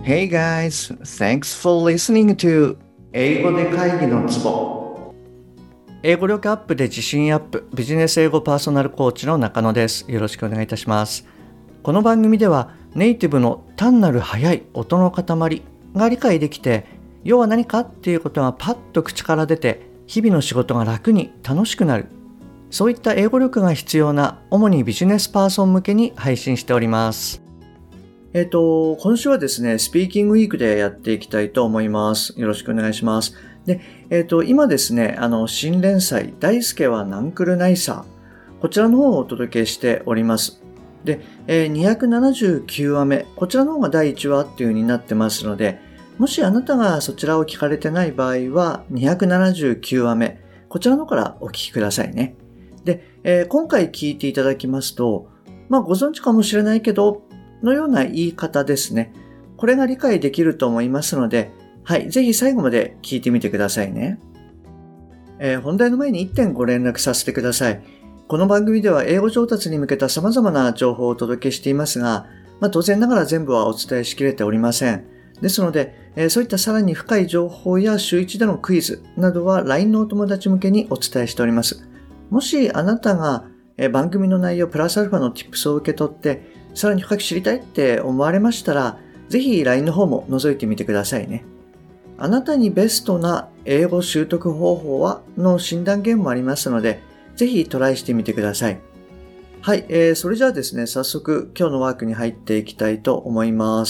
Hey guys, thanks for listening to 英語で会議のツボ。英語力アップで自信アップ、ビジネス英語パーソナルコーチの中野です。よろしくお願いいたします。この番組ではネイティブの単なる速い音の塊が理解できて、要は何かっていうことがパッと口から出て、日々の仕事が楽に楽しくなる。そういった英語力が必要な主にビジネスパーソン向けに配信しております。今週はですね、スピーキングウィークでやっていきたいと思います。よろしくお願いします。で、今ですね、新連載、大輔はナンクルナイサー。こちらの方をお届けしております。で、279話目、こちらの方が第1話っていう風になってますので、もしあなたがそちらを聞かれてない場合は、279話目、こちらの方からお聞きくださいね。で、今回聞いていただきますと、ご存知かもしれないけど、のような言い方ですね。これが理解できると思いますので、はい、ぜひ最後まで聞いてみてくださいね。本題の前に1点ご連絡させてください。この番組では英語上達に向けた様々な情報をお届けしていますが、当然ながら全部はお伝えしきれておりません。ですので、そういったさらに深い情報や週1でのクイズなどは LINE のお友達向けにお伝えしております。もしあなたが番組の内容プラスアルファの Tips を受け取ってさらに深く知りたいって思われましたら、ぜひ LINE の方も覗いてみてくださいね。あなたにベストな英語習得方法はの診断ゲームもありますので、ぜひトライしてみてください。はい、それじゃあですね、早速今日のワークに入っていきたいと思います。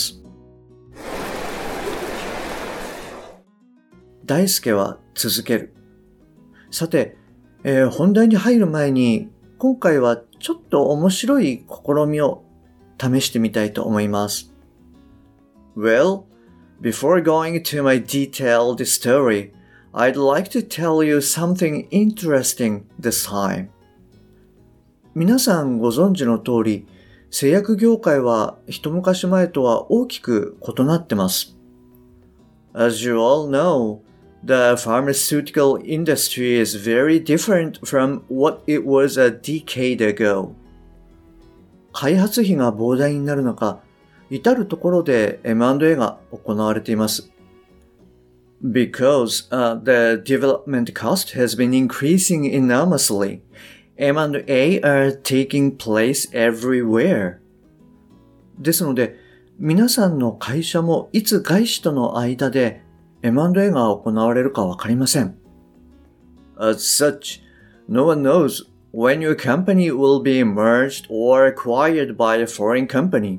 大輔は続ける。さて、本題に入る前に、今回はちょっと面白い試みを試してみたいと思います。Well, before going to my detailed story, I'd like to tell you something interesting this time. 皆さんご存知の通り、製薬業界は一昔前とは大きく異なってます。As you all know, the pharmaceutical industry is very different from what it was a decade ago.開発費が膨大になる中、至るところで M&A が行われています。Because the development cost has been increasing enormously, M&A are taking place everywhere. ですので、皆さんの会社もいつ外資との間で M&A が行われるかわかりません。As such, no one knows,When your company will be merged or acquired by a foreign company.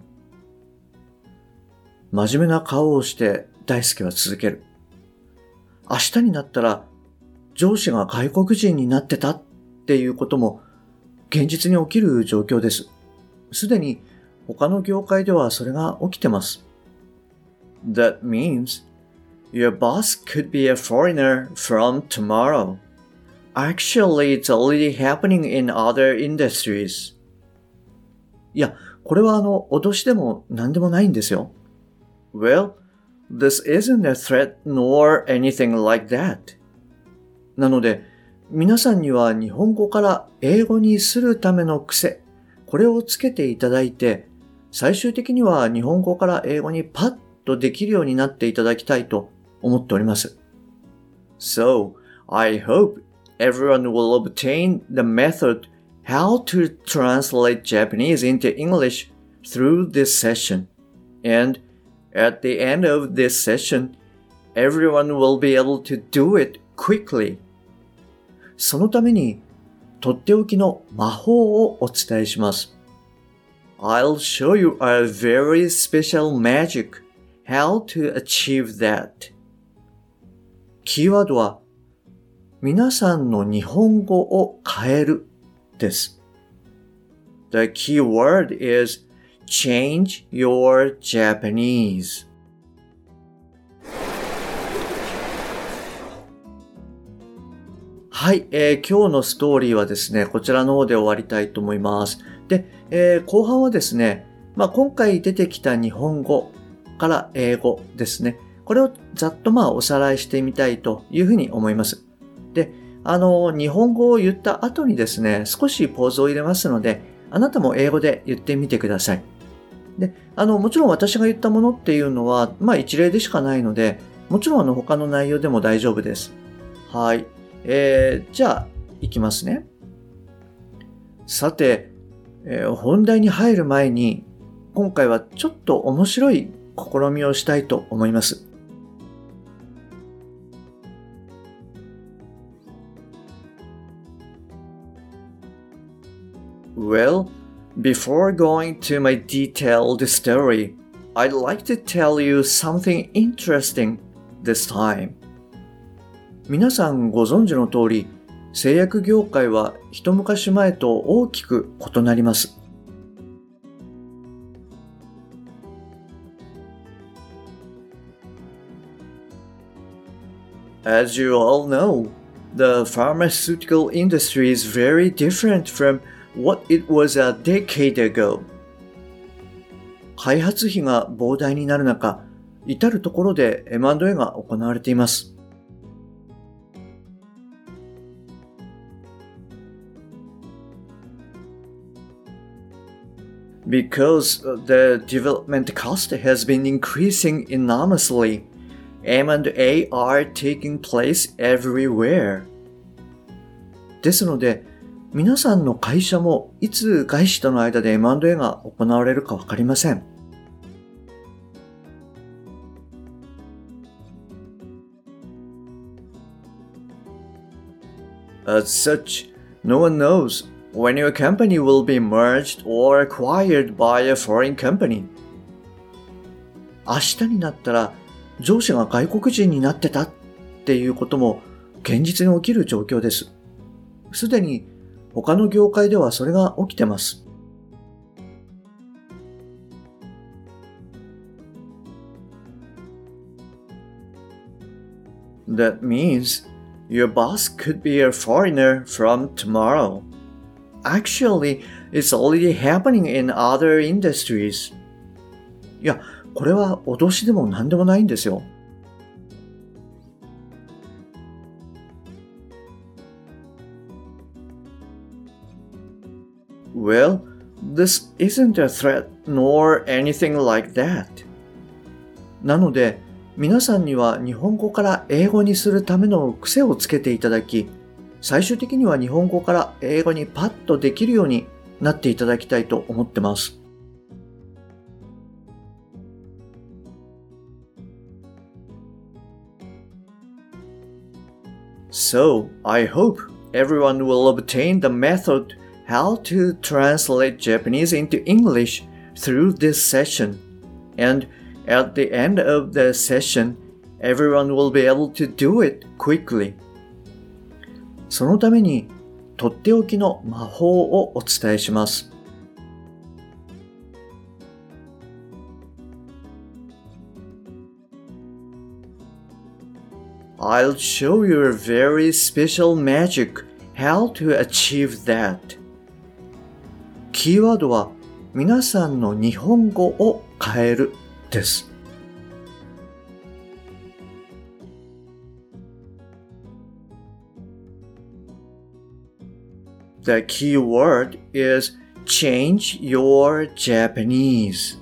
真面目な顔をして大輔は続ける。明日になったら上司が外国人になってたっていうことも現実に起きる状況です。すでに他の業界ではそれが起きてます。That means your boss could be a foreigner from tomorrow.Actually, it's already happening in other industries. いや、これは脅しでも何でもないんですよ。Well, this isn't a threat nor anything like that. なので、皆さんには日本語から英語にするための癖、これをつけていただいて、最終的には日本語から英語にパッとできるようになっていただきたいと思っております。So, I hope,Everyone will obtain the method how to translate Japanese into English through this session. And at the end of this session, everyone will be able to do it quickly. そのために、とっておきの魔法をお伝えします。I'll show you a very special magic how to achieve that. キーワードは皆さんの日本語を変えるです。The key word is change your Japanese. はい、今日のストーリーはですね、こちらの方で終わりたいと思います。で、後半はですね、今回出てきた日本語から英語ですね。これをざっとおさらいしてみたいというふうに思います。で、日本語を言った後にですね、少しポーズを入れますので、あなたも英語で言ってみてください。 で、もちろん私が言ったものっていうのは、一例でしかないので、もちろん他の内容でも大丈夫です。はい。じゃあ、いきますね。さて、本題に入る前に、今回はちょっと面白い試みをしたいと思います。Well, before going to my detailed story, I'd like to tell you something interesting this time. 皆さんご存知の通り、製薬業界は一昔前と大きく異なります。As you all know, the pharmaceutical industry is very different from what it was a decade ago. 開発費が膨大になる中、至るところで M&A が行われています。Because the development cost has been increasing enormously, M&A are taking place everywhere. ですので、皆さんの会社もいつ外資との間で M&A が行われるかわかりません。As such, no one knows when your company will be merged or acquired by a foreign company. 明日になったら上司が外国人になってたっていうことも現実に起きる状況です。すでに他の業界ではそれが起きてます。That means your boss could be a foreigner from tomorrow. Actually, it's already happening in other industries. いや、これは脅しでも何でもないんですよ。Well, this isn't a threat nor anything like that. なので、皆さんには日本語から英語にするための癖をつけていただき、最終的には日本語から英語にパッとできるようになっていただきたいと思ってます。So, I hope everyone will obtain the method how to translate Japanese into English through this session. And at the end of the session, everyone will be able to do it quickly. そのために、とっておきの魔法をお伝えします。I'll show you a very special magic how to achieve that. キーワードは皆さんの日本語を変えるです。The key word is change your Japanese.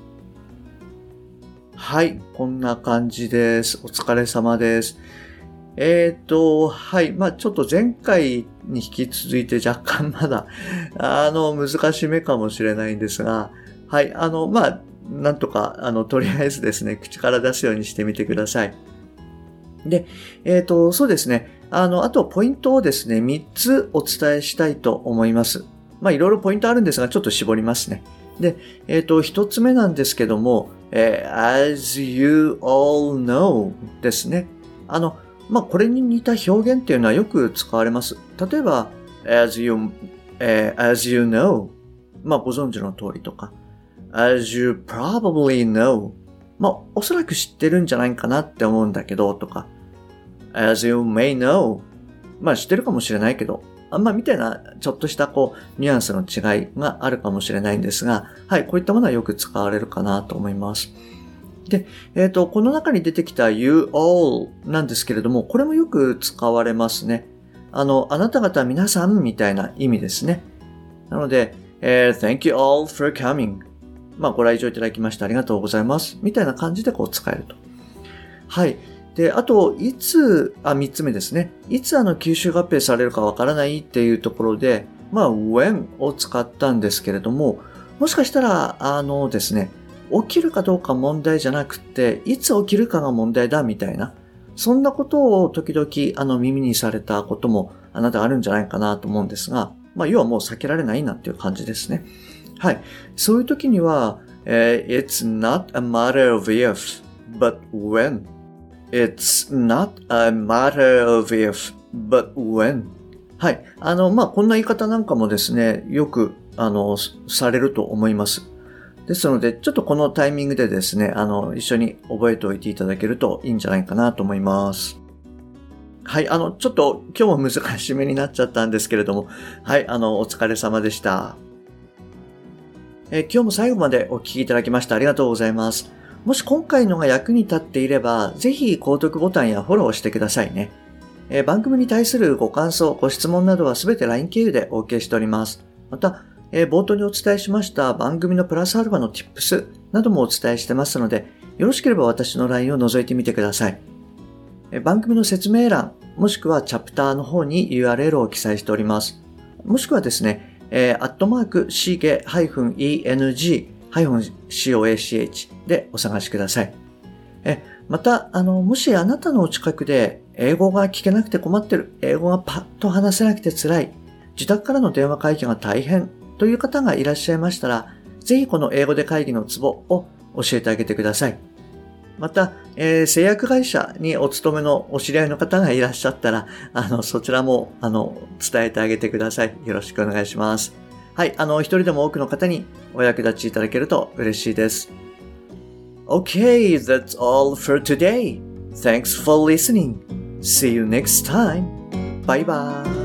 はい、こんな感じです。お疲れ様です。はい。ちょっと前回に引き続いて若干まだ、難しめかもしれないんですが、はい。なんとか、とりあえずですね、口から出すようにしてみてください。で、そうですね。あとポイントをですね、3つお伝えしたいと思います。いろいろポイントあるんですが、ちょっと絞りますね。で、1つ目なんですけども、as you all know ですね。これに似た表現っていうのはよく使われます。例えば、as you know ご存知の通りとか、as you probably know おそらく知ってるんじゃないかなって思うんだけどとか、as you may know 知ってるかもしれないけど、みたいなちょっとしたニュアンスの違いがあるかもしれないんですが、はい、こういったものはよく使われるかなと思います。で、この中に出てきた you all なんですけれども、これもよく使われますね。あなた方皆さんみたいな意味ですね。なので、thank you all for coming. ご来場いただきましてありがとうございます。みたいな感じで使えると。はい。で、あと、3つ目ですね。いつ吸収合併されるかわからないっていうところで、when を使ったんですけれども、もしかしたら、ですね、起きるかどうか問題じゃなくて、いつ起きるかが問題だみたいな、そんなことを時々耳にされたこともあなたあるんじゃないかなと思うんですが、要はもう避けられないなっていう感じですね。はい。そういう時には、It's not a matter of if, but when.It's not a matter of if, but when. はい。こんな言い方なんかもですね、よく、されると思います。ですので、ちょっとこのタイミングでですね、一緒に覚えておいていただけるといいんじゃないかなと思います。はい。ちょっと今日も難しめになっちゃったんですけれども、はい。お疲れ様でした。今日も最後までお聞きいただきましてありがとうございます。もし今回のが役に立っていれば、ぜひ購読ボタンやフォローをしてくださいね。番組に対するご感想、ご質問などはすべて LINE 経由でお受けしております。また、冒頭にお伝えしました番組のプラスアルファの Tips などもお伝えしてますので、よろしければ私の LINE を覗いてみてください。番組の説明欄、もしくはチャプターの方に URL を記載しております。もしくはですね、@shige-eng-coach でお探しください。また、もしあなたのお近くで英語が聞けなくて困ってる、英語がパッと話せなくて辛い、自宅からの電話会議が大変という方がいらっしゃいましたら、ぜひこの英語で会議のツボを教えてあげてください。また、製薬会社にお勤めのお知り合いの方がいらっしゃったら、そちらも、伝えてあげてください。よろしくお願いします。はい、一人でも多くの方にお役立ちいただけると嬉しいです。Okay, that's all for today. Thanks for listening. See you next time. Bye bye.